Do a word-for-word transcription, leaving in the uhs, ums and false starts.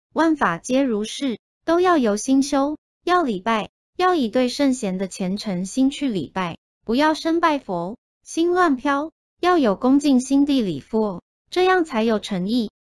万法皆如是，都要由心修，要礼拜，要以对圣贤的虔诚心去礼拜，不要生拜佛，心乱飘，要有恭敬心地礼佛，这样才有诚意。